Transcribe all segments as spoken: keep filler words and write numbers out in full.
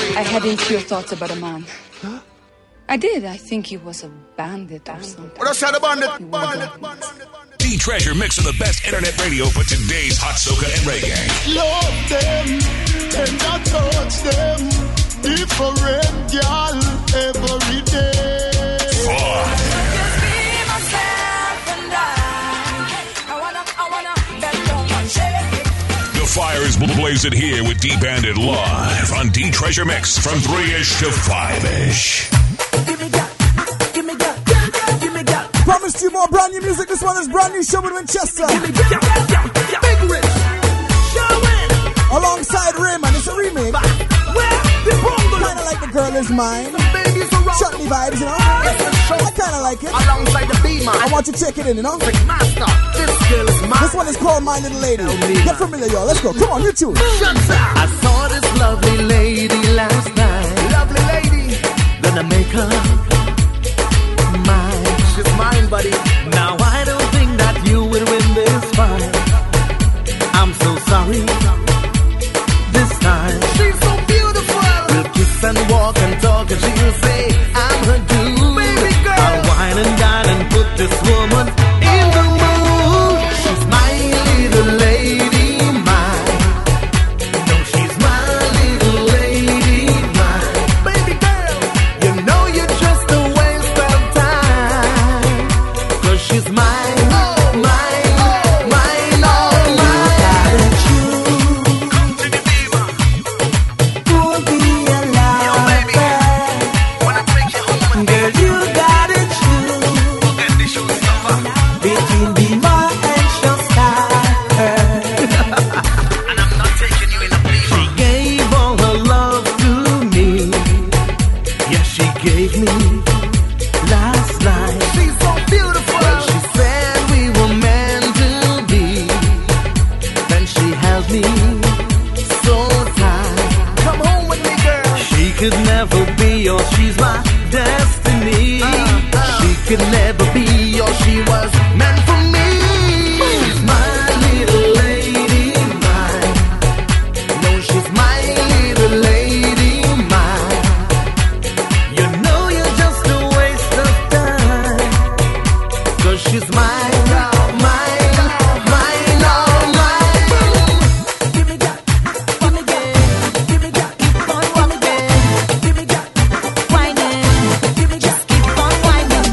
I had impure thoughts about a man. Huh? I did. I think he was a bandit or something. What else a bandit? Bandit, bandit. D-Treasure mix of the best internet radio for today's hot soca and reggae. Love them and I touch them. Different girl every day. Fun. The fire is blazing here with D-Bandit live on D-Treasure Mix from three-ish to five-ish. Give me that, give me that, give me that. Promised you more brand new music. This one is brand new show with Winchester. Give me that, Big Rich, Showin'. Alongside Raymond, it's a remake. Where the bongo? Kinda like The Girl Is Mine. Chutney vibes, you know. I kinda like it. Alongside the beamer. I want you to check it in, you know. Master, this girl is mine. This one is called My Little Lady. Get familiar, y'all. Let's go. Come on, you tune. I saw this lovely lady last night. Lovely lady. Gonna make her mine. She's mine, buddy. Now I don't think that you will win this fight. I'm so sorry. This time she's so beautiful. We'll kiss and walk and talk and she'll say I'm her dude. Baby girl, I'll wine and dine and put this woman in the mood. She's my little lady, mine. No, she's my little lady, mine. Baby girl, you know you're just a waste of time. Cause she's mine, oh, mine, oh, mine, oh, mine. Could never be, or she was meant for me. She's my little lady, mine. No, she's my little lady, mine. You know you're just a waste of time. Cause she's mine, oh, mine, oh, mine, oh, mine. Give me that, give me that, give me that, keep on, give me that, give me that, whining, give me that, keep on whining.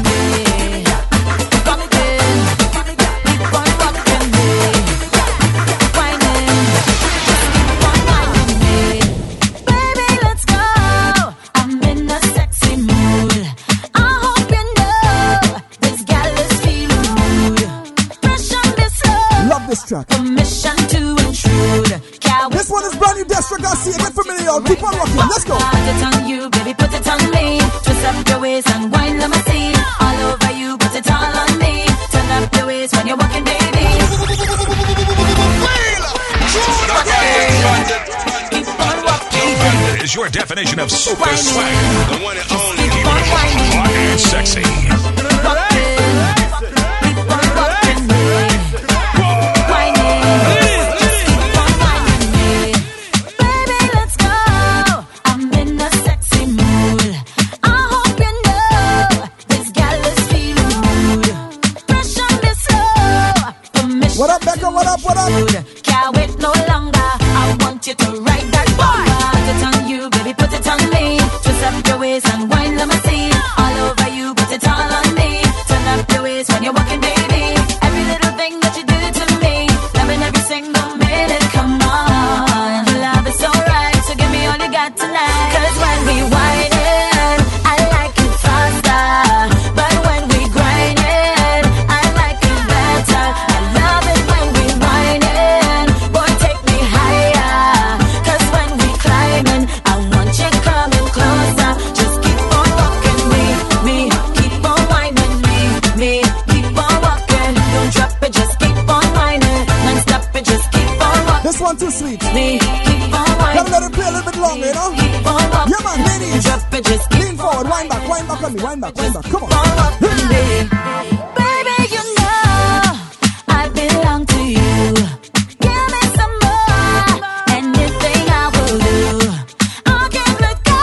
Track. Permission to intrude. This one is brand new, Destra Garcia. Get familiar, y'all. Keep on rocking. Let's go. Put it on you, baby, put it on me. Twist up your waist and wine, let me see. All over you, put it all on me. Turn up your waist when you're walking, baby. Keep on walking. Is your definition of super swag. The one and only. Keep on hot and sexy. What up, Becca? What up, what up? Can't wait no longer. I want you to ride that boy. Put it on you, baby, put it on me. Twist up your waist and wine, let me see. All over you, put it all on me. Turn up your waist when you're walking, baby. Every little thing that you do to me. Loving every single minute, come on. Love is so right, so give me all you got tonight. Cause when we whine it, I like it faster. But when we grind it, I like it better. I love it when we whine it. Boy, take me higher. Cause when we climbing, I want you coming closer. Just keep on walking me, me. Keep on whining me, me. Keep on walking. Don't drop it, just keep on whining. Non-stop it, just keep on walking. This one too sweet. Me, keep on whining. Gotta let it play a little bit longer, you know? Keep on walking. Yeah, man, ladies. Drop it, just keep lean forward, wind back, wind back on me, wind back, wind back. Come on. Baby, you know I belong to you. Give me some more. Anything I will do. I can't let go.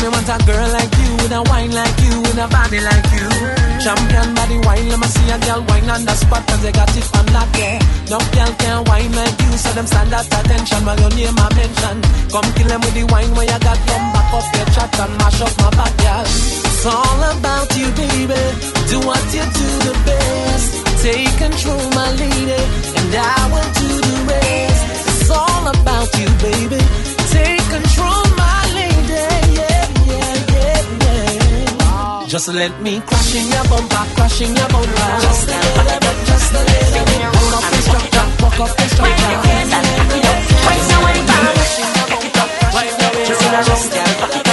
me want a girl like you, with a wine like you, with a body like you. Champion body wine, let me see a girl wine on the spot, cause they got it from that, yeah. No girl can wine like you, so them stand at attention while your name I mention. Come kill them with the wine where you got, come back up your chat and mash up my back, yeah. It's all about you, baby. Do what you do the best. Take control, my lady, and I will do the rest. It's all about you, baby. Take control, my lady, yeah, yeah, yeah, yeah. Just let me crash in your bumper, crash in your bumper. Just a little bit, just a little bit. Hold up the structure, walk up the structure. Right now, when it's crash in your bumper, right now, it's just a little bit.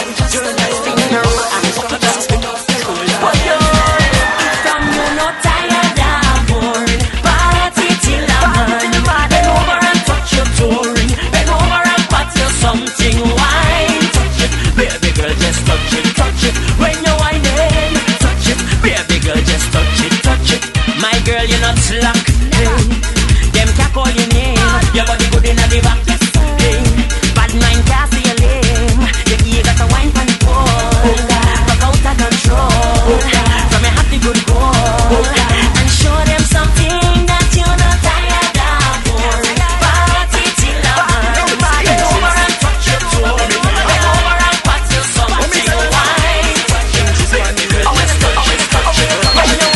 Slack, hey. Them can't call your name. Your body good in the back, hey. Bad mind can't see your lame. Your ear got a wine pan pole. Rock out of control. From your happy good goal. And show them something that you're not tired of. Party till the morning. Bend over and touch your toe. Bend over and pat your something. Wine. Always touch it, touch it. When you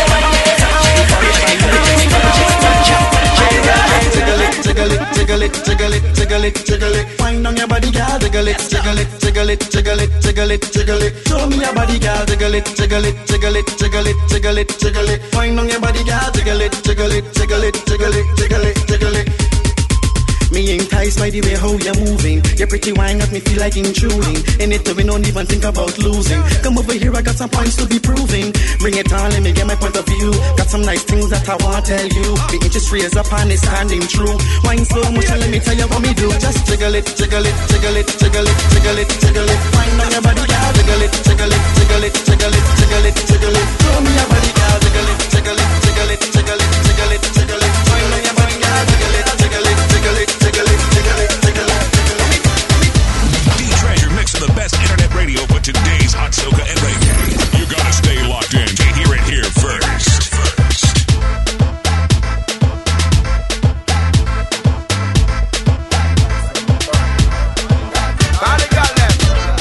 Jiggle it, jiggle it, jiggle it, jiggle it. Wind on your body, girl. Jiggle it, jiggle it, jiggle it, jiggle it, jiggle it, jiggle it. Show me your body, girl. Jiggle it, jiggle it, jiggle it, jiggle it, jiggle it, jiggle it. Wind on your body, girl. Jiggle it, jiggle it, jiggle it, jiggle it, jiggle it, jiggle it. Me enticed by the way how you're moving. Your pretty wine got me feel like intruding. In it, we don't even think about losing. Come over here, I got some points to be proving. Bring it on, let me get my point of view. Got some nice things that I want to tell you. The interest raise up and it's standing true. Wine so much and let me tell you what me do. Just jiggle it, jiggle it, jiggle it, jiggle it, jiggle it, jiggle it. Wine on your body, girl. Jiggle it, jiggle it, jiggle it, jiggle it, jiggle it, jiggle it. Show me your body, girl. Jiggle it, jiggle it, jiggle it, jiggle it, jiggle it, jiggle it. Wine on your body, girl. Jiggle it, jiggle it, jiggle it, jiggle it, jiggle it, jiggle it, jiggle it. D-Treasure mix of the best internet radio for today's hot soca and reggae. You gotta stay locked in to hear it here first. First. Call the girl them.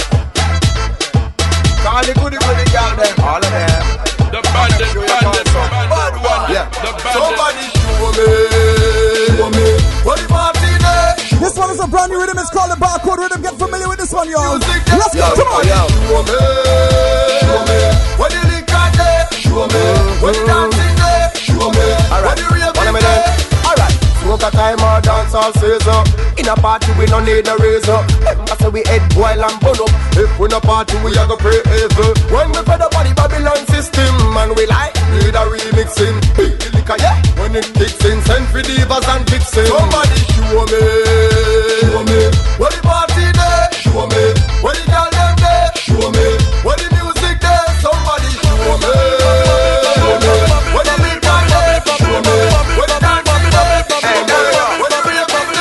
Call the goody goody girl them. All of them. The bandit, bandit, bad one. Yeah. The bandit. Somebody show me. Show me. What the party there? This one is a brand new rhythm. It's called the Barcode Rhythm. Get familiar with this one, y'all. Music, Let's go. yo, Come on. yo. Show me. Show me. What the liquor there? Show me. What the dancing there? Show me. What the real thing there? Alright. Smoke time or dance all season. In a party we no need a razor. Remember say we head boil and burn up. If we no party we a go pray evil. When we fed up on the Babylon system and we like need a remixing. Big the liquor yeah. When it kicks in, send for divas and vixen. Somebody show me. Show me. What the party there? Show me. What the girl them there? Show me. What the music there? Somebody show me. Show me. What the big man there? Show me. What the dancing there? Show me. What the real bubble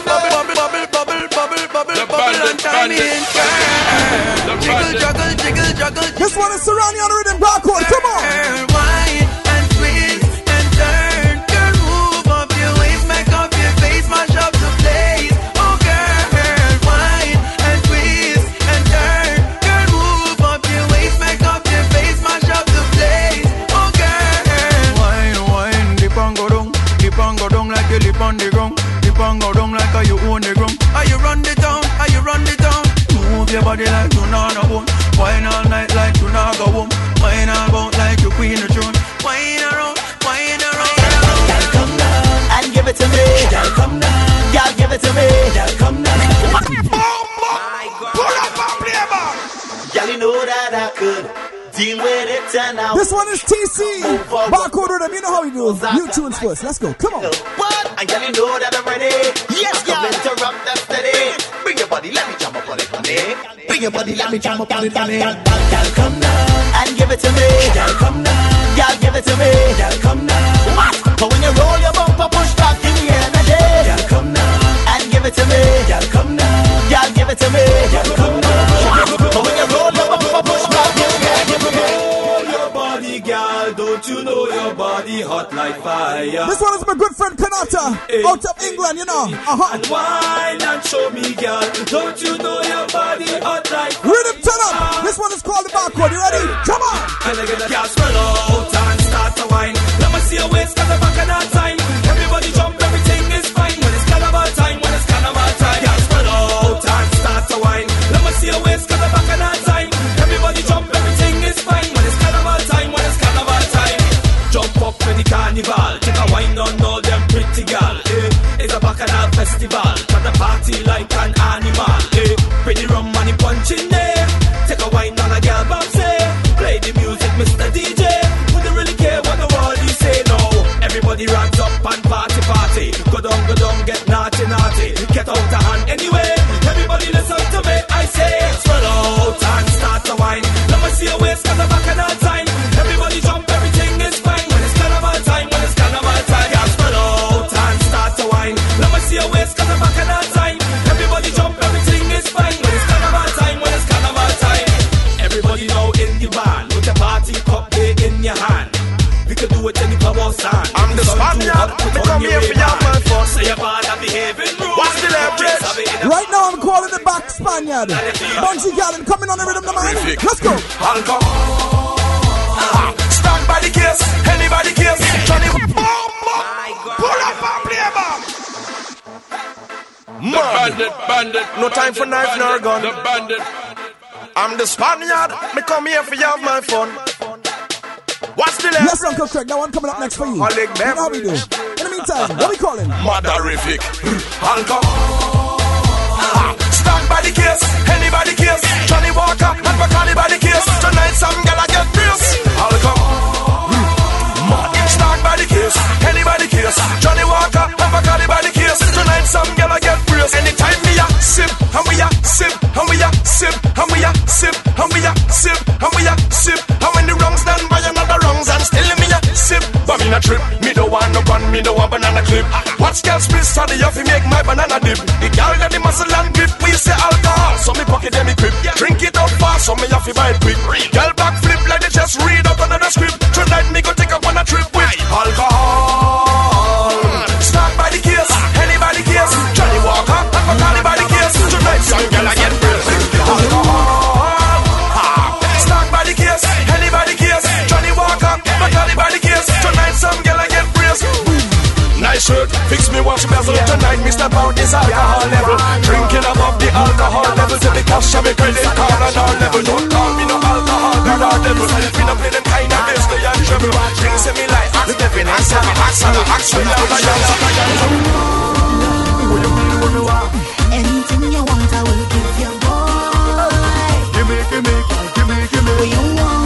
bubble The bandit, bandit. The bandit. Juggle, jiggle, juggle. This one is Serrani on the rhythm. Barcode. Come on. Girl, wine and twist and turn. Girl, move up your waist, make up your face, mash up the place. Oh, girl, wine and twist and turn. Girl, move up your waist, make up your face, mash up the place. Oh, girl, wine, wine, dip and go down, dip and go down like you lip on the ground, dip and go down like how you own the ground. Are you run the town? Are you run the town? Move your body like you not a bone. Wine all night like you not go home. Wine all about like you queen the throne. Wine around, wine around. Girl, come down and give it to me. Girl, come down. Girl, give it to me. Girl, come down. Pull up and play back. Girl, you know that I could deal with it and now. This one is T C. Barcode Rhythm. You know how we do. You tunes first. Let's go. Come on. What? And girl, you know that I'm ready. Yes, girl. Interrupt that steady. Bring your body, let me jump up on it, honey. Bring your body, let me jump up on it, honey. Girl, come down and give it to me. Girl, come down. Girl, give it to me. Girl, come down. What? But when you roll your bumper, push back in the energy. Girl, come down and give it to me. Girl, come down. Girl, give it to me. Girl, come down. But when you hot like fire. This one is my good friend Kanata, hey, out of England, you know. Uh-huh. And wine and show me, girl. Don't you know your body hot like fire? Rhythm turn up. This one is called the Barcode. You ready? Come on. Can I get a girl swell out and start to wine? Let me see your waist, cause the back of that time. Everybody jump, everything is fine. When it's carnival time, when it's carnival time. Girl swell out and start to wine. Let me see your waist, cause the back of that time. Everybody jump, everything is fine. When it's carnival time, when it's carnival time. Jump up in the carnival. Take a wine on all them pretty gal. Eh. It's a bacchanal festival. Got the party like an animal. Eh. Pretty rum money punching there. Take a wine on a gal bounce. Play the music, Mister D J. Wouldn't really care what the world you say, no. Everybody runs up and party, party. Go down, go down, get naughty, naughty. Get out of hand anyway. Everybody listen to me, I say. Swell out and start to wine. Let me see your waist, cause the back of that time. Everybody jump, everything is fine. When it's carnival time, when it's carnival time. Yeah, swell out and start to wine. Let me see your waist, cause the back of that time. Everybody jump, everything is fine. When it's carnival time, when it's carnival time. Everybody now in the band. With the party cup there in your hand. We can do it in the club or stand. I'm the Spaniard. Me come here for your man for. Say your bad and behaving rude. What's the leverage? Right now I'm calling the back Spaniard. Bunchy Gallon coming on the rhythm of the man. Let's go. Alcohol. Stand by the case. Anybody case. Johnny. Pull up and play back. The bandit, bandit. No time for knife nor gun. The bandit. I'm the Spaniard. Me come here for you have my fun. What's the level? Yes, Uncle Craig. That one coming up next for you. You know how we do. In the meantime, what we calling? Madarific. Alcohol. Stand by the case. Anybody case. Johnny Walker and Bacardi by the case. Tonight some gala get fierce. Alcohol. Stand by the case. Anybody case. Johnny Walker and Bacardi by the case. Tonight some gala get fierce. Anytime we a sip and we a sip and we a sip and we a sip and we a sip and we a sip. And when the wrongs done by another wrongs and still me a sip. But me a trip. Me don't want no gun. Me don't want banana clip. Watch girls split study off me make my banana dip. The girl got the muscle and grip. We say alcohol. So me pocket them equip. Drink it up fast. So me have to buy it quick. Girl back flip like they just read out another script. Tonight me go take up on a trip with alcohol. Start by the case. Anybody case. Johnny Walker and Bacardi by the case. Tonight some girl I get real. Alcohol. Start by the case. Anybody case. Johnny Walker Bacardi by the case. Tonight some girl I get real. Nice shirt, fix me wash bezel. Tonight me step out this alcohol level. Drinking above the alcohol level. Till the cash of me credit card on our level. Don't call me no alcohol, God our devil. Me no play them kind of bass, they and treble. Drinks in me like axe, stepping and stepping, axe and axe. Anything you want, I will give you, boy. Give me, give me, give me, give me. What you want?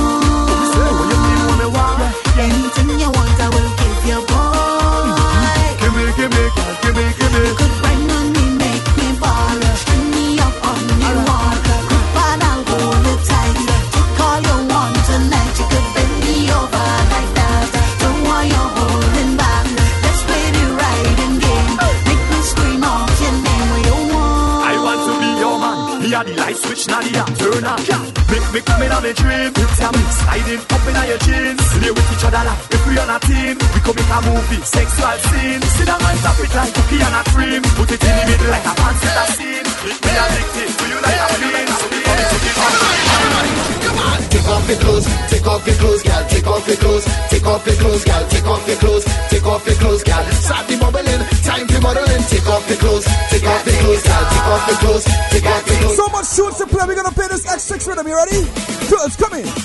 Anything you want, I will give you, boy. Give me, give me, give me, give me. You could bring on me, make me ball. Bring me up on your wall. Good bad, I'll hold it tight. Take all you want tonight. You could bend me over like that. Don't want you holding back. Let's play the riding game. Make me scream out your name. What you want? I want to be your man. Me a the light switch, now the app turn on. Make me come in on my dream. You tell me sliding up in your jeans. Play with each other like if we on a team. We come make a movie, sexual scene. Sit down and tap it like cookie and a cream. Put it in the middle like a fancy scene. Make me addicted to you like a fiend. So we come to the Take off your clothes, take off your clothes, girl. Take off your clothes, take off your clothes, girl. Take off your clothes, take off your clothes, girl. Start the bubbling, time for modeling. Take off your clothes, take off your clothes, girl. Take off your clothes, take off your clothes. So much tunes to play. We're gonna play this X six rhythm. You ready? Clothes, come in.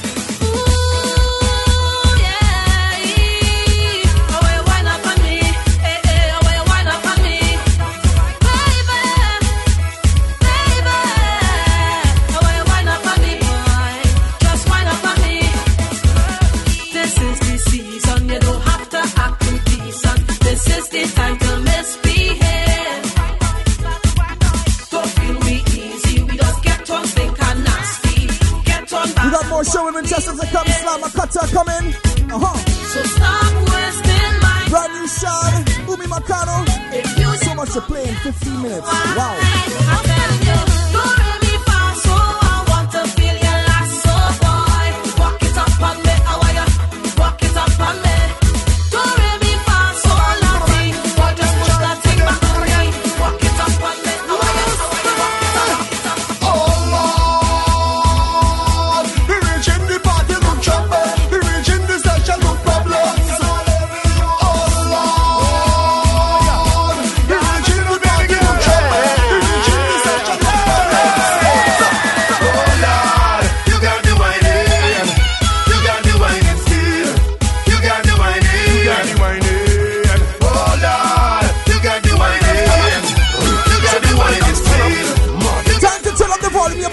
Show women testers that come slam a cutter coming. Uh-huh. So stop wasting my brand new Sean, Umi Makano. So much to play in fifteen minutes. Wow. I'm telling you, don't let me fall, so I want to feel your last so boy. Walk it up on me, how are you? Walk it up on me. Don't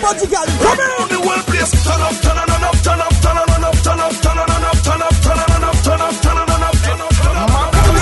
Bungie girl, come in. The whole place turn up, turn on, up, turn up, turn on, up, turn up, turn on, up, turn up, turn on, up, turn up, turn on, up, turn up, turn up.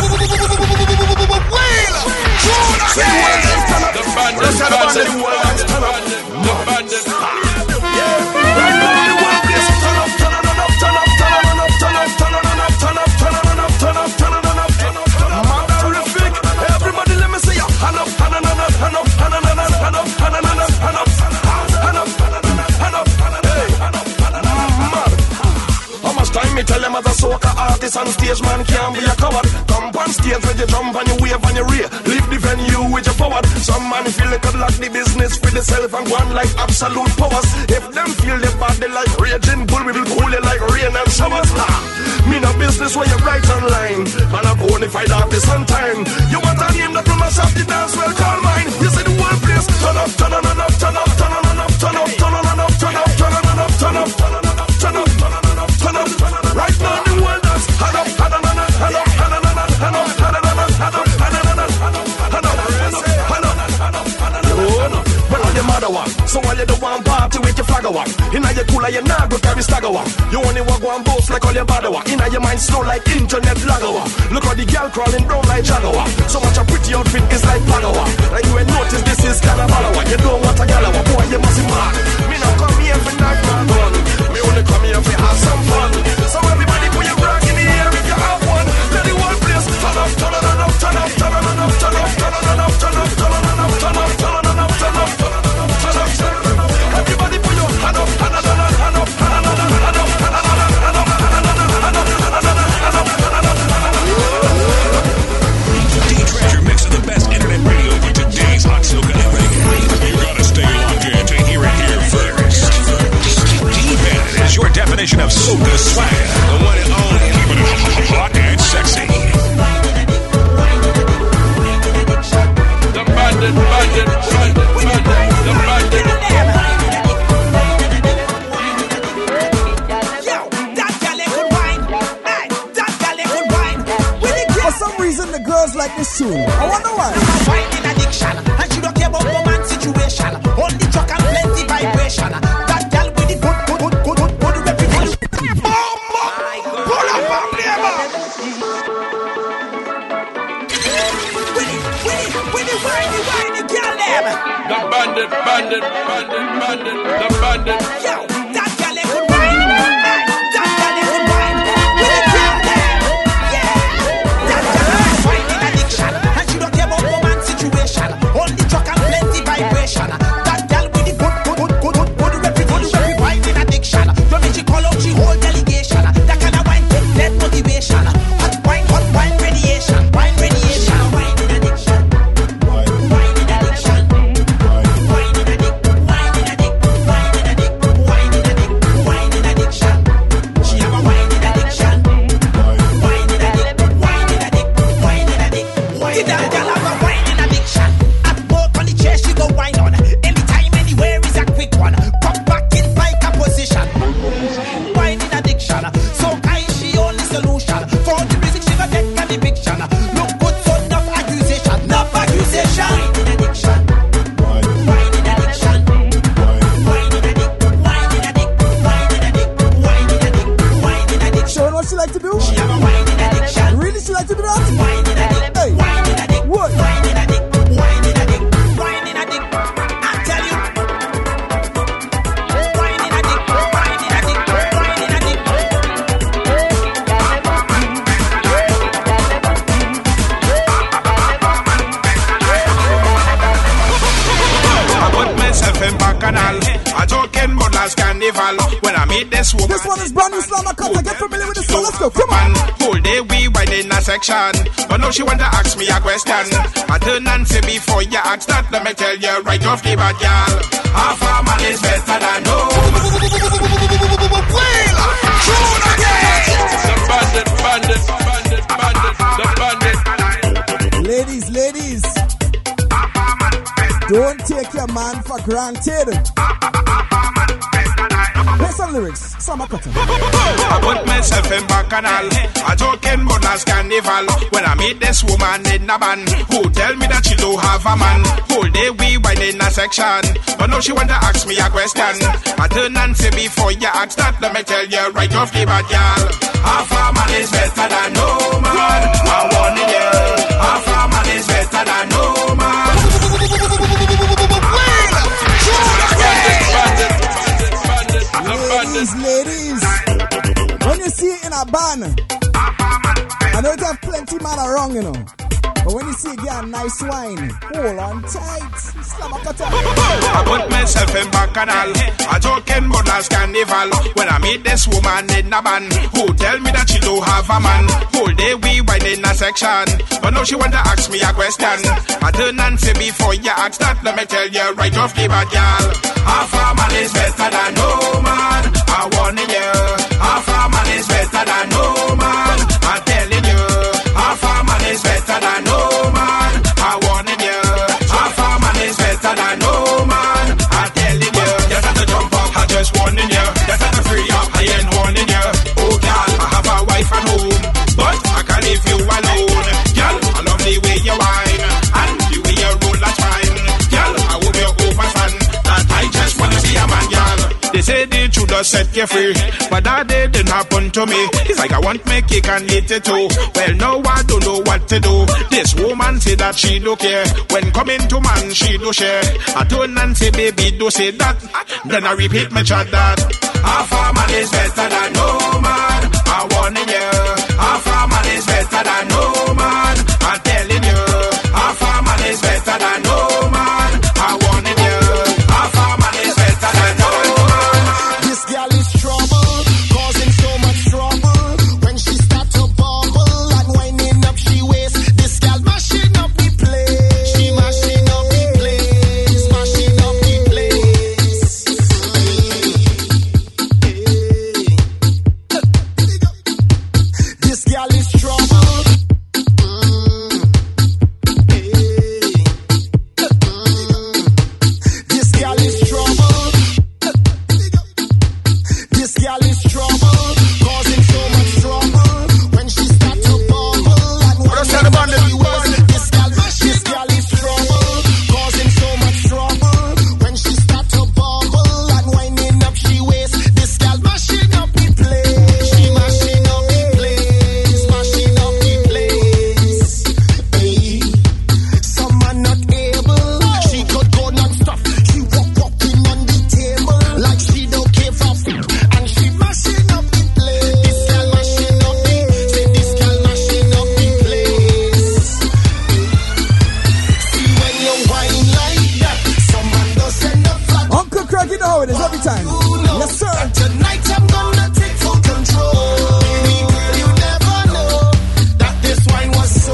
The bandit, the bandit, the bandit. Right now the whole place turn up, turn on, up, turn up, turn on, up, turn up, turn on, up, turn up, turn on, up, turn up, turn on, up, turn up, turn up. Terrific. Everybody, let me see you. Hand up, hand up, hand up, hand up, hand up, hand up, hand up, hand up, hand up, hand up, hand up, hand up, hey, hand up, hand up. How much time me tell them as a soca artist on stage, man can't be a coward. Come on stage with your jump and your wave and your rear. Leave the venue with your forward. Some man feel they could lock the business for themselves and go on like absolute powers. If them feel they bad, they like raging bull, we will cool you like rain and showers. Ha! Me no business where you write online, and a bonafide artist on time. You want a name that will mash up the dance, well call mine. You see the whole place turn up, turn on and up, turn up, turn on and up, turn up, turn on and up, turn up, turn on and up, turn up, turn on and up, turn up, turn on and up, turn up. Right now the world dance, hand up, hand on and up, hand up, hand on and up, hand up, hand on and up, hand up, hand on and up, hand up, hand up, hand up, hand up, hand up. Well, all your mother one, so all you do one party with your flag one. Inna your cooler, you nah go carry stagger one. You only walk one boast like all your bad one. Inna your mind slow like internet lagger one. Look how the girl crawling brown like Jaguar. So much a pretty outfit is like Pagawa. Like you ain't notice this is Carnival one. You don't want a galawa, boy you must be mad. Me not come here for knock my gun. Me only come here for have some fun. So everybody put your rock in the air if you have one. Let the whole place turn up, turn on and up, turn up, turn on and up, turn up, turn on and up, turn up, turn on and up, turn up, turn on and up, turn up, turn on and up, turn up, turn up. Everybody put your hand up, hand up, hand up, hand up, hand up, hand up, hand up, hand up, hand up, hand up, hand up, hand up, hand up. D-Treasure mix of the best internet radio for today's hot soca and reggae. You gotta stay locked in to hear it here first. D-Bandit is your definition of soca swag. The one and only. Keeping it hot and sexy. The bandit, bandit, bandit, bandit, the bandit. For some reason, the girls like this tune. I wonder why. Finding addiction, and she don't care about woman's situation. Only truck and plenty vibration. That girl with the good, good, good, good, good, good reputation. Bomba! Pull up and flavor! Winnie, Winnie, Winnie, whiny, whiny girl them. The bandit, bandit, bandit, bandit, the bandit. Yo, that girl they could wine. Hey, that girl they could wine. With the girl them. Yeah, that girl is finding addiction, and she don't care about woman's situation. Only truck and plenty vibration. That girl with the good, good, good, good, good, good reputation. Finding addiction. You mean she call out she whole delegation. That kind of wine take net motivation. Hot wine, hot wine radiation, wine radiation. Wine addiction. Wine addiction. Wine addict. Wine addict. Wine addict. Wine addict. Wine addiction. She have a wine addiction. Wine addict. Wine addict. Wine addict. Wine that girl have a wine addiction. At work on the chair she go wine on. Anytime, anywhere is a quick one. Pop back in like a position. Wine addiction. So kind she only solution. For the music she go get an eviction. Look good so enough accusation. Enough accusation. Wine addiction. Wine addiction. Wine addict. Wine addict. Wine addict. Wine addict. Wine addict. Showing what she like to do? She have a wine addiction. Really, she like to do that? Wine addict. Hey. Wine addict. What? Wine addict. Wine addict. Wine addict. I tell you. Wine addict. Wine addict. Wine addict. I put myself in Bacchanal, a joking but last carnival. When I meet this woman, This one is brand new Slammer Cutter. Get familiar with this one. Let's go. Come on. man, whole day we wine in a section. But now she want to ask me a question. I turn and say before you ask that, let me tell you right off the bat, y'all. Half a man is better than no. The bandit, bandit, bandit, bandit, the bandit. Ladies, ladies. Don't take your man for granted. Play some lyrics. Slammer Cutter. I put myself in Bacchanal, a joking but last carnival. When I meet this woman in a band, who tell me that she don't have a man. Whole day we wine in a section. section. But now she want to ask me a question. I turn and say before you ask that, let me tell you right off the bat, y'all. Half a man is better than no man. I want it, yeah. Half a man is better than no man. Ladies, ladies, when you see it in a band, I know it have plenty man around, you know. But when you see a girl nice wine, hold on tight. Slam a cutter. I put myself in Bacchanal, a joking but last carnival. When I meet this woman in a band, who tell me that she don't have a man. Whole day we wine in a section, but now she want to ask me a question. I turn and say before you ask that, let me tell you right off the bat, y'all. Half a man is better than no man. I want it, yeah. Half a man is better than no man. I'm telling you, half a man is better than no man. I want it, yeah. Half a man is better than no man. I'm telling you, you got to jump up. I just warning you, you got to free up. I ain't warning you. Oh, girl, I have a wife at home, but I can't leave you alone. Girl, I love the way you whine and the way you roll that fine. Girl, I hope you're over fan that I just wanna be a man, girl. They say the truth does set you free, but that day didn't happen to me. It's like I want my cake and eat it too. Well, now I don't know what to do. This woman say that she don't care. When coming to man, she do share. I turn and say, baby, do say that. Then I repeat my chat that half a man is better than no man. I want it, yeah. Half a man is better than no man. I'm telling you, half a man is better than no man. I want it, yeah. Half a man is better than no man. This girl is trouble, causing so much trouble. When she start to bubble and winding up she waist, this girl mashing up the place. She mashing up the place, mashing up the place. This girl is trouble. This girl is trouble. This girl is trouble, causing so much trouble. When she start to bubble and when she waist, this girl, this girl is trouble, causing so much trouble. When she start to bubble and winding up she waist, this girl mashing up the place. She mashing up the place, mashing up the place. Hey, some man not able. She could go non-stop. She walk walking on the table like she don't care for food. And she mashing up the place. This girl mashing up the, say this girl mashing up the place. See when you whine like that, some man does send a flag. Uncle Craig, you know how it is every time. Yes, sir. Tonight I'm gonna take full control. Baby girl, you never know that this wine was so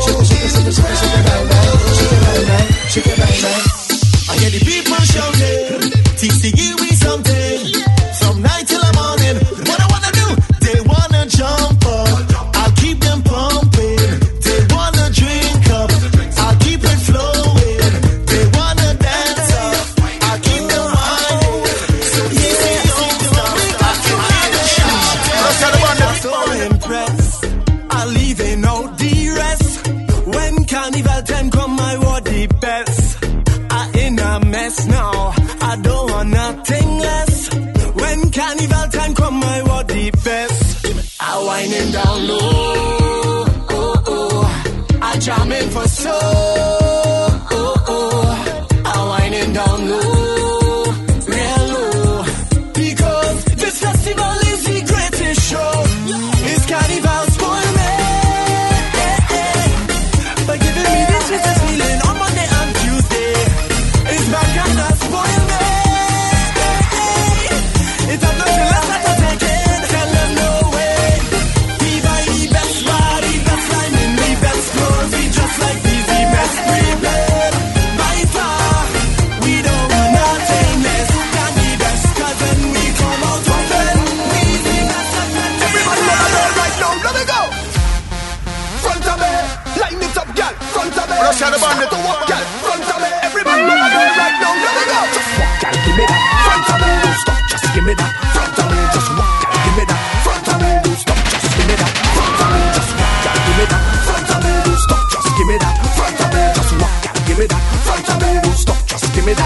I hear the people shouting, T C give me something. From night till the morning, what I wanna do? They wanna jump up, I'll keep them pumping. They wanna drink up, I'll keep it flowing. They wanna dance up, I'll keep them wine. So yeah, don't stop, I can hear the shouting. So impressed, I'll leave it out the rest. When carnival time come, I want the best. I in a mess now, I don't want nothing less. When carnival time come, I want the best. I winding down low, oh, oh. I jamming for so, oh, oh. I winding down low, real low. Because this festival is the greatest show. It's carnival spoil me, by giving me this sweetest feeling on Monday and Tuesday. It's back and I spoil me. It's a nothing less that I'm taking. Tell them no way. We buy the best bar, the best line in the best clothes. We just like these, the best prepared. By far, we don't want nothing less than the best. Cause when we come out open, we the best of the best. Everybody on the road right now, let me go. Front of me, line it up, girl. Front of me, Rush out the band. start to walk, girl. Front of me, everybody on the road right now, let me go. Just walk, girl, give me that. Front of me, don't stop, just give me that. Front of me, just walk, girl, give me that. Front of me, don't stop, just give me that. Front of me, just walk, girl, give me that. Front of me, don't stop, just give me that. Front of me, just walk, girl, give me that. Front of me, don't stop, just give me that.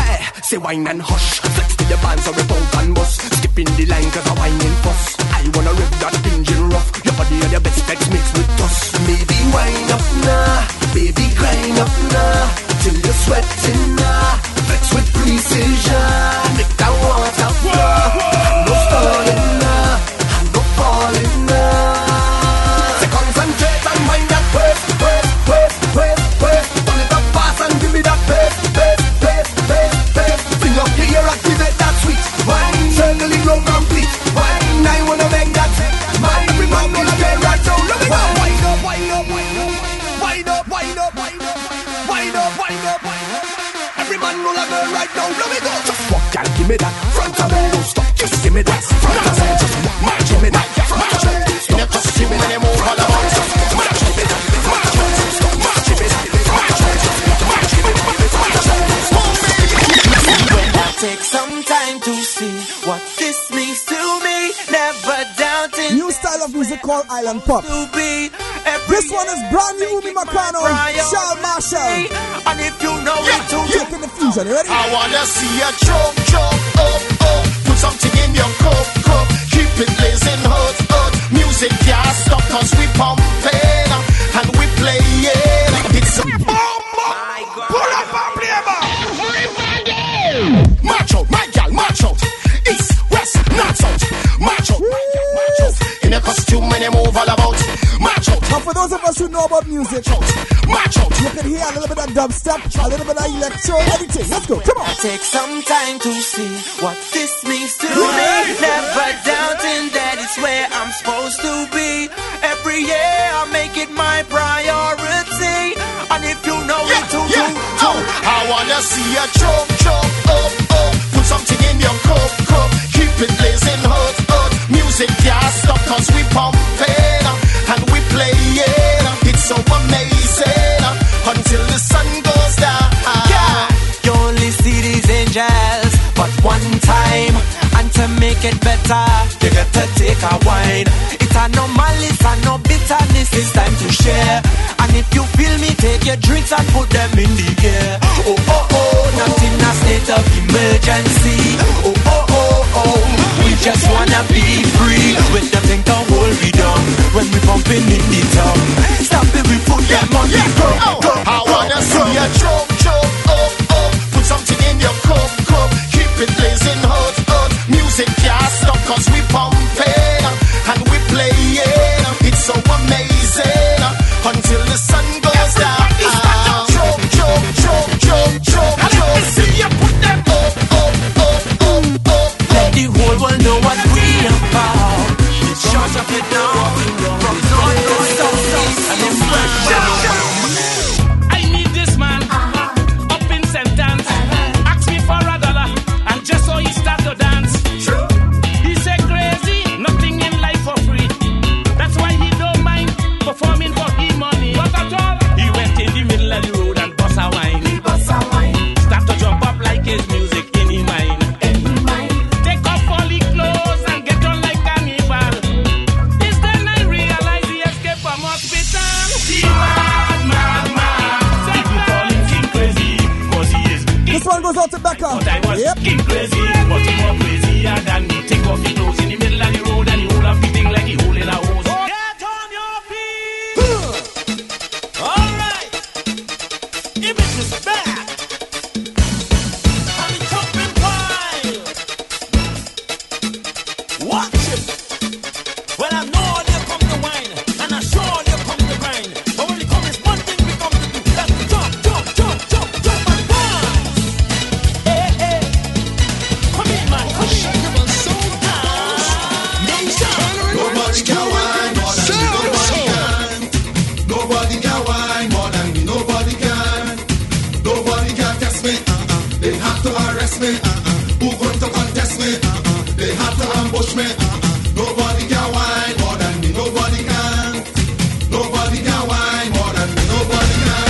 say wine and hush. Flex to the bands or rip out and bust. Skipping the line cause I whining fuss. I wanna rip that engine rough. Your body and your best text mixed with dust. Baby wine up now, baby grind up now, till you're sweating now. Flex with precision, make that water flow. No stalling now, no falling now. Say concentrate and mind that pace, pace, pace, pace, pace. Turn it up fast and give me that pace, pace, pace, pace, pace. Bring up your ear, activate that sweet wine. Circling round complete wine. I wanna make that mine. Every man wanna get right down. Let me go. Wind up, wind up, wind up, wind up, wind up, wind up, wind up, wind up, wind up. Every man wanna go right now. Let me go. Just walk, girl, give me that front of me, don't stop. Just give me that front of me, just walk, give me that front of me. In a costume when you move all about. Just march, give me that, march, just stop, march, give me that, march, just march, give me that, march, just when I take some time to see what this means to me, never doubting. New style of music called Island Pop. To be this one is brand new, Umi Makano, Charles Marshall. And if you know it too, taking the fusion. You ready? I wanna see a choke, choke, oh, oh. Put something in your cup, cup. Keep it blazing hot, hot. Music can't stop cause we pumping and we playing. It's a bomb, pull up and play ball. March out, my gal, march out. East, west, north, south. March out, my gal, march out. In a costume and you move all about. March out. And for those of us who know about music, march out. You can hear a little bit of dubstep, a little bit of electro, everything. Let's go, come on. I take some time to see what this means to me. Never doubting that it's where I'm supposed to be. Every year I make it my priority. And if you know yeah, it too, yeah. too, too. I wanna see a choke, choke, oh, oh. Put something in your cup, cup. Keep it blazing hot, hot. Music can't stop cause we pumping and we playing. It's so amazing until the sun goes down. Yeah, you only see these angels but one time, and to make it better, you got to take a wine. It's a no malice and no bitterness. It's time to share. And if you feel me, take your drinks and put them in the air. Oh oh oh, not in a state of emergency. Oh oh oh oh, we just wanna be free. When them think the whole we done, when we pumping in the tongue. Stop it, we put them on the go, go. I wanna see a choke, choke, oh oh. Put something in your cup, cup. Keep it blazing hot, hot. Music can't stop cause we pumping and we playing. It's so amazing until the sun goes down. Choke, choke, choke, choke, choke, choke. Let me see you put them up, up, up, up, up. Let the whole world know what we about. Shut up it down from north to south, and then I need this man up in sentence. Ask me for a dollar, and just so he start to dance. He said crazy, nothing in life for free. That's why he don't mind performing for his money. But at all, he went in the middle of the road and bust a wine. Start to jump up like his music in his mind. Take off all his clothes and get on like cannibal. It's then I realize he escaped from hospital. He mad, mad, mad. People call him King Crazy, cause he is king. This one goes out to Becca. But I was yep. King Crazy, but he more crazier than me. Take off his clothes in the middle of the road and he hold up the thing like he hold in a hose. Get on your feet. Alright. Image is back. And the jumping pile. Watch it. Well, I know they come to wine, and I sure they come to grind. But when they come, it's one thing we come to do. That's to jump, jump, jump, jump, jump and dance. Hey, hey. Come in, man, come in. Nobody can whine more than me, nobody can. Nobody can whine more than me, nobody can. Nobody can test me, uh-uh. They have to arrest me, uh-uh. Who going to contest me, uh-uh. They have to ambush me, uh-uh. Nobody can whine more than me, nobody can. Nobody can whine more than me, nobody can.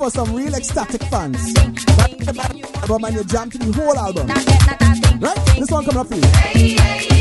for some real ecstatic fans. That album and you jam to the whole album. Right? This one coming up for you.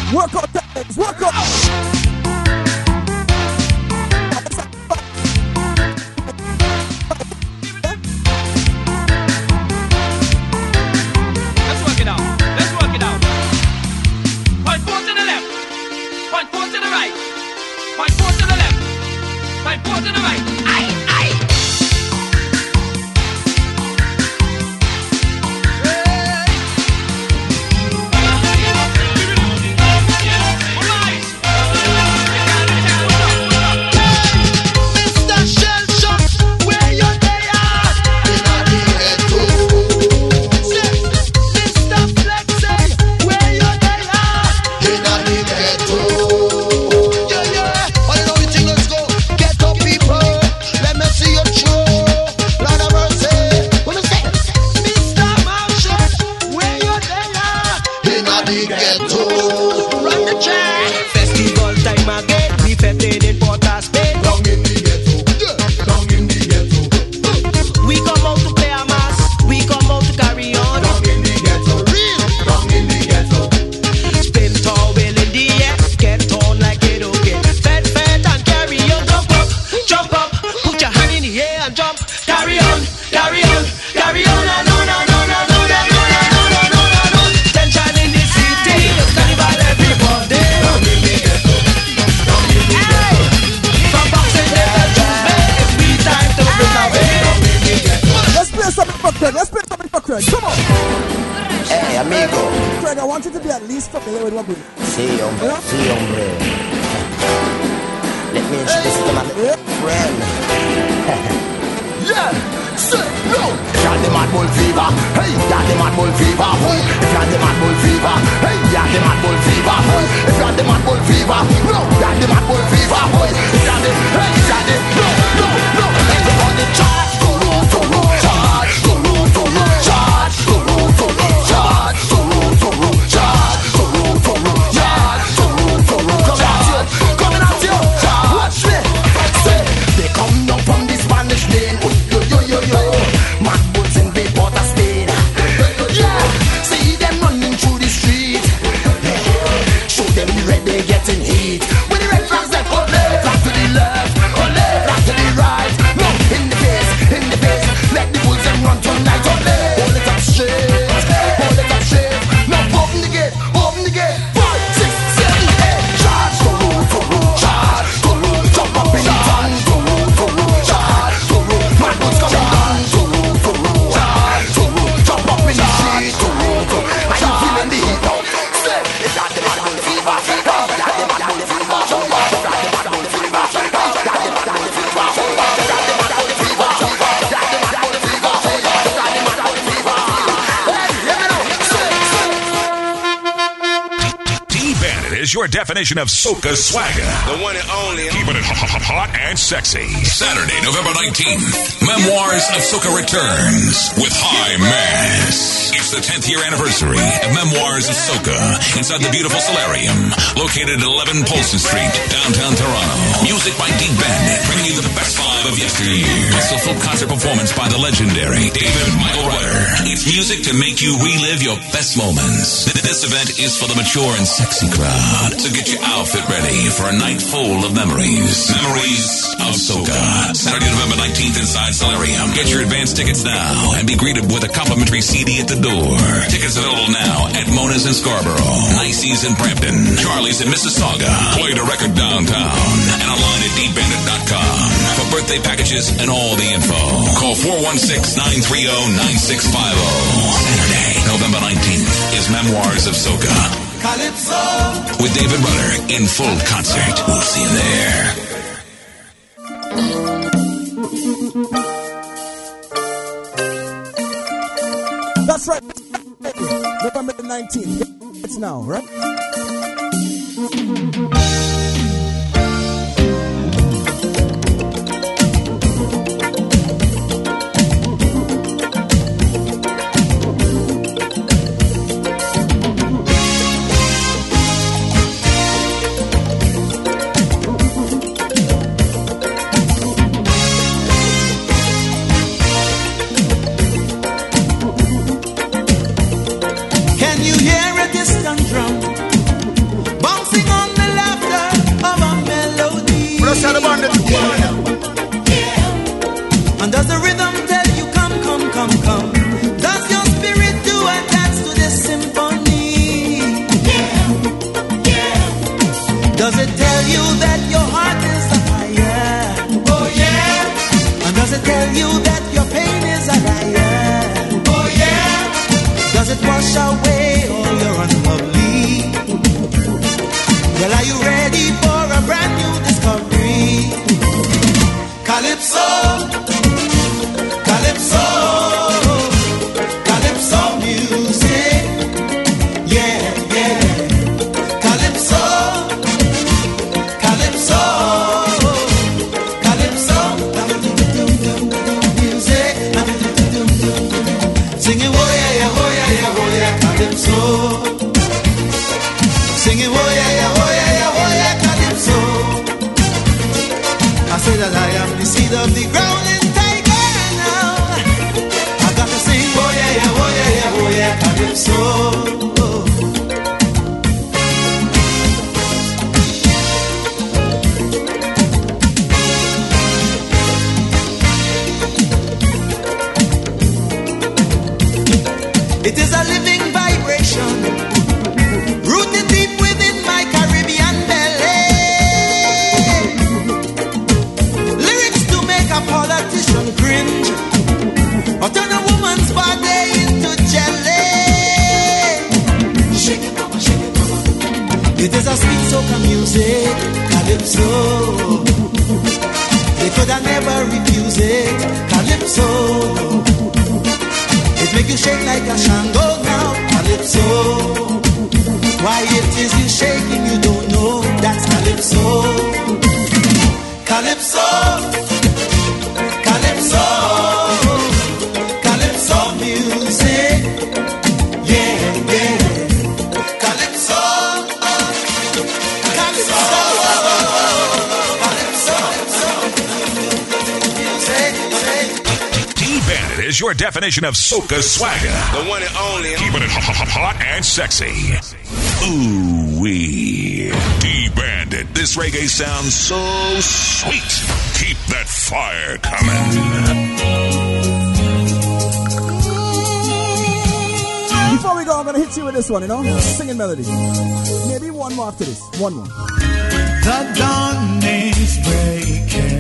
Workout times, workout. Let's work it out. Let's work it out. Point four to the left. Point four to the right. Point four to the left. Point four to the right. Aye, aye. Festival time again, we fêted in Port of Spain. Down in the ghetto, down in the ghetto. We come out to play a mass, we come out to carry on. Down in the ghetto, real, down in the ghetto. Spin tall wheel in the air, get on like it okay. Fed, fed and carry on, jump up, jump up, put your hand in the air and jump. Carry on, carry on, carry on and on and on and on and on and on and on and on. Tension in the city, carnival everybody. Down in the ghetto, down in the ghetto. From boxing in the Tuesday, it's me time to break away. Down in the ghetto. Let's play something for Craig. Let's play something for Craig. Come on. Hey, amigo. Craig, I want you to be at least familiar with what we do. Sí, hombre. Sí, hombre. Let me introduce you to my little friend. Yeah, say no. If you're the mad bull fever, hey, you're the mad bull fever. Hey. If you're the mad bull fever, hey, you're the mad bull fever. Hey. If you're the mad bull fever, no, you're the mad bull fever. Hey. If you're the, hey, you're the, no, no, no. Everybody charge, go roll, go roll, charge, go roll, go roll, charge, go roll, go roll, charge, go roll, go roll, charge, go roll, go roll, charge, go roll, go roll, charge. Coming at you, charge. Watch me. Say, they come down from the Spanish lane. Yo, yo, yo, yo. Mad bulls in the Port of Spain. Yeah, see them running through the street. Show them the red, they getting heat. With the red flags, they go left, flag to the left, or left, flag to the right. No, in the face, in the face. Let the bulls them run tonight, or left. Hold it up straight, hold it up straight. Now open the gate, open the gate. Five, six, seven, eight. Charge, go roll, go roll, charge, go roll, jump up in the tongue, go roll, go roll, charge, go roll. Mad bulls coming down, go roll, go roll, charge, go roll, jump up in the street, go roll, go roll. Are you feeling the heat now? Say, if you're the mad bull fever, if you're the mad bull fever, jump up. If you're the mad bull fever, if you're the mad bull fever, jump up. If you're the mad bull fever, if you're the mad bull fever, if you're the mad bull fever, if you're the mad bull fever. Hey, hear me now. Say, say. D-Bandit is your definition of soca swagger. The one and only. Keeping it hot, hot and sexy. Saturday, November nineteenth, Memoirs of Soca returns with High Mass. It's the tenth year anniversary of Memoirs of Soca inside the beautiful Solarium, located at eleven Polson Street, downtown Toronto. Music by D-Bandit, bringing you the best vibe of yesteryear. Plus a full concert performance by the legendary David Michael Ryder. It's music to make you relive your best moments. This event is for the mature and sexy crowd, so get your outfit ready for a night full of memories. Memories of Soca. Saturday, November nineteenth inside Solarium. Get your advance tickets now and be greeted with a complimentary C D at the door. Tickets available now at Mona's in Scarborough, Nicey's in Brampton, Charlie's in Mississauga, Play the Record downtown, and online at d bandit dot com. For birthday packages and all the info, call four one six, nine three zero, nine six five zero. Saturday, November nineteenth is Memoirs of Soca. Calypso. With David Rudder in full concert. We'll see you there. That's right. November the nineteenth. It's now, right? wash away all your unlovely. Well, are you ready for a brand new discovery? Calypso, Calypso, Calypso music. Yeah, yeah. Calypso, Calypso, Calypso music. Singing, oh yeah, yeah, oh yeah, yeah, oh yeah, Calypso. Singing, oh yeah, yeah, oh yeah, yeah, oh yeah, Calypso. I say that I am the seed of the ground and tiger now. I got to sing, oh yeah, yeah, oh yeah, yeah, oh yeah, Calypso. It is a living vibration, rooted deep within my Caribbean belly. Lyrics to make a politician cringe, or turn a woman's body into jelly. Shake it, mama, shake it, mama. It is a sweet soca music, Calypso. They could have never refuse it, Calypso. It make you shake like a Shango now, Calypso. Why it is you shaking, you don't know, that's Calypso. Calypso, Calypso, Calypso music. Yeah, yeah. Calypso, Calypso, Calypso, music. D-Bandit is your definition of soca swagger. The one and only. Keeping it hot, hot and sexy. Ooh-wee. D-Bandit. This reggae sounds so sweet. Keep that fire coming. Before we go, I'm gonna hit you with this one, you know? Singing melody. Maybe one more after this. One more. The dawn is breaking.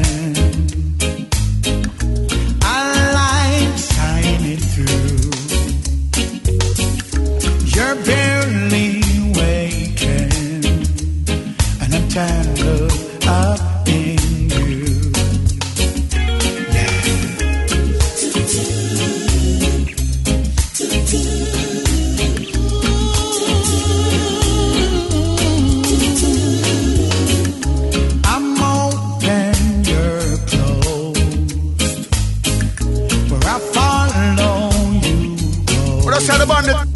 You're barely waking, and I'm tangled up in you. Yeah. I'm open, you're closed. Where I follow you go. What else said about it?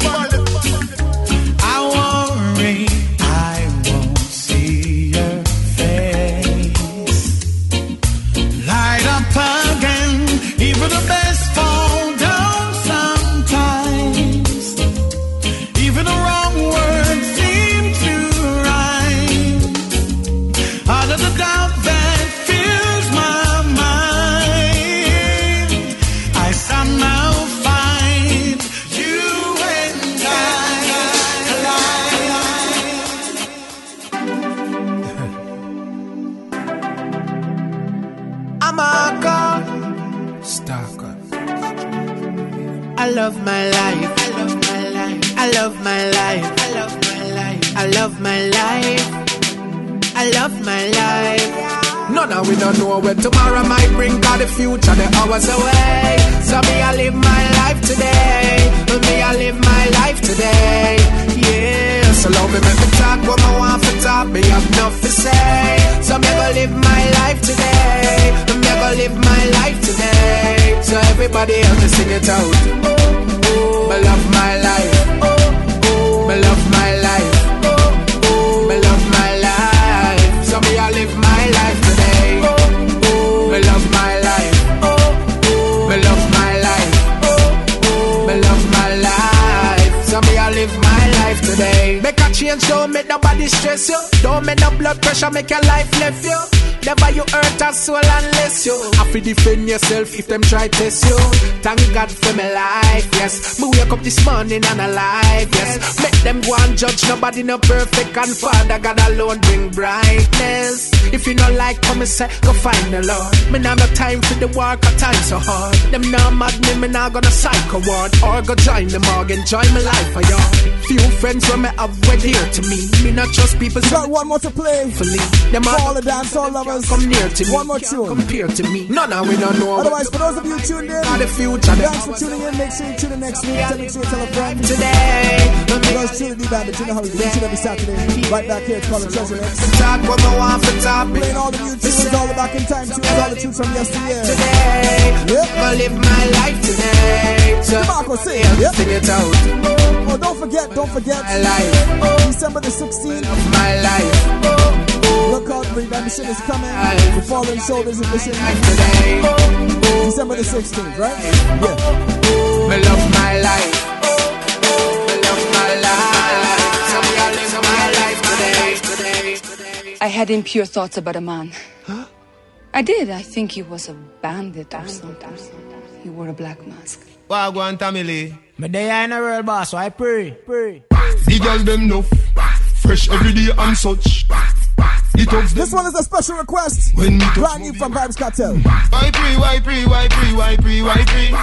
I love my life. I love my life. I love my life. I love my life. I love my life. I love my life. None of we don't know where tomorrow might bring, cause the future the hours away. So me I live my life today. Me I live my life today. Yeah, so love me make me talk what I want for talk. Me have enough to say. So me go live my life today. Me go live my life today. So everybody else to sing it out. Me love my life. Me love my life. Me love my life. So me I live my life today. Me love my life. Me love my life. Me love my life. So me I live my life today. Make a change, don't make nobody stress you. Don't make no blood pressure make your life left you. Never you hurt a soul unless you have to defend yourself if them try test you. Thank God for my life, yes. Me wake up this morning and alive, yes. Make them go and judge, nobody no perfect, and Father God alone bring brightness. If you not like come and say, go find the Lord. Me nah no time for the work, a time so hard. Them nah mad me, me nah gonna psycho ward. Or go join the morgue, enjoy my life for y'all. Few friends when me have went here to me. Me not trust people. Got one more to play. Them all the dance all lovers. Come near to me. One more tune. Compare to me. No, no, we don't know. Otherwise, for those of you tuned in, the future. Thanks for tuning in. Make sure you tune in next week. Tell me to tell a friend. Today, because truly the band, you know how we do it every Saturday. Right back here, it's called the Treasure Mix. Talk what I want for topic. Playing all the new tunes, all the back in time tunes, all the tunes from yesteryear. Today, yep. I live my life today. So, Marco, say it. Yep. Sing it out. Oh, don't forget, don't forget. My life. December the sixteenth. My life. Look out, redemption is coming. The Fallen Shoulders edition. December the sixteenth, right? Yeah. I love my life. I love my life. Somebody live my life today. today. I had impure thoughts about a man. Huh? I did. I think he was a bandit or something. He wore a black mask. Wagwan Tamile. Me day in a real boss, so I pray, pray. The girl them know, fresh every day and such. This one is a special request. When me brand new from Vibes Cartel. Why pre, why pre, why pre, why pre, why pre?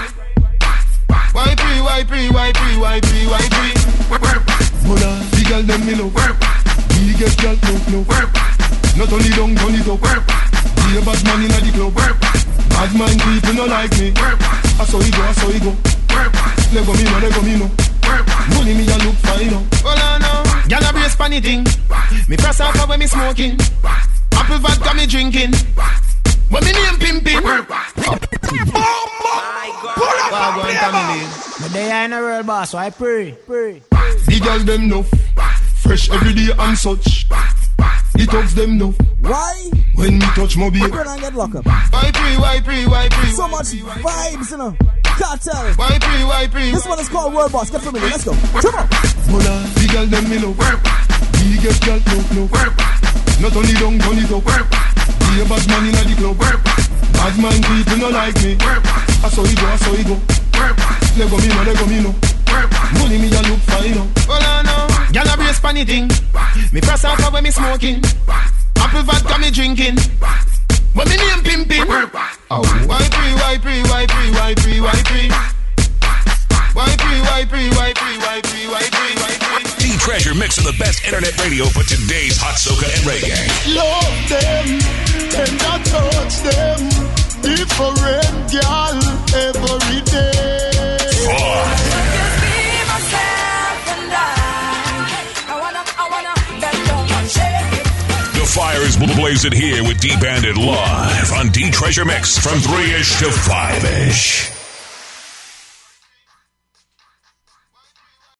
Why pre, why pre, why pre, why pre, why pre? Mona, the girl them me love. We get girl no no. Not only down, turn it up. Be a bad man inna the club. Bad man people no like me. I saw it go, I saw it go. Let go me no, let go me no. Money me a look fine no. Hold on now, gyal a brace pon the thing. Me press off when me smoking. Apple vodka me drinking. When me name pimping. Wagwan Tamile. Me day in a real boss, so I pray, pray. The girl them know, fresh every day and such. The thugs them know. Why? When me touch my baby, we're gonna get locked up. Why pre, why pre, why pre? So much vibes, you know. Cartel. Why pre, why pre? This one is called World Boss. Get familiar. Let's go. Come on. Mona, the girl them me love. We get girl no no. Not only down, turn it up. Be a bad man inna the club. Bad man people no like me. I saw it go, I saw it go. Let go me no, let go me no. Money me a look fine no. Hold on now, gyal a brace pon the thing. Me press off when me smoking. Apple vodka me drinking. When me name pimping. Oh. Why pre, why pre, why pre, why pre, why pre? Why pre, why pre, why pre, why pre, why pre, why pre? D-Treasure mixing the best internet radio for today's hot soca and reggae. Love them and I touch them. Different girl every day. Fun. The fire is blazing here with D-Bandit live on D-Treasure Mix from three-ish to five-ish.